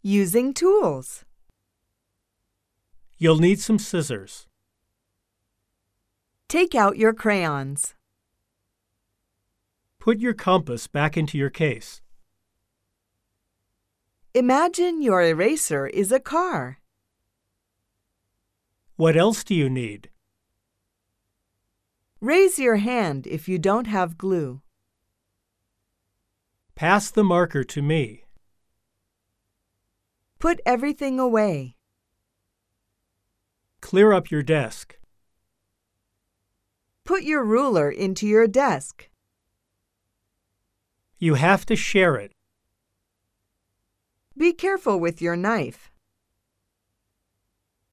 Using tools. You'll need some scissors. Take out your crayons. Put your compass back into your case. Imagine your eraser is a car. What else do you need? Raise your hand if you don't have glue. Pass the marker to me. Put everything away. Clear up your desk. Put your ruler into your desk. You have to share it. Be careful with your knife.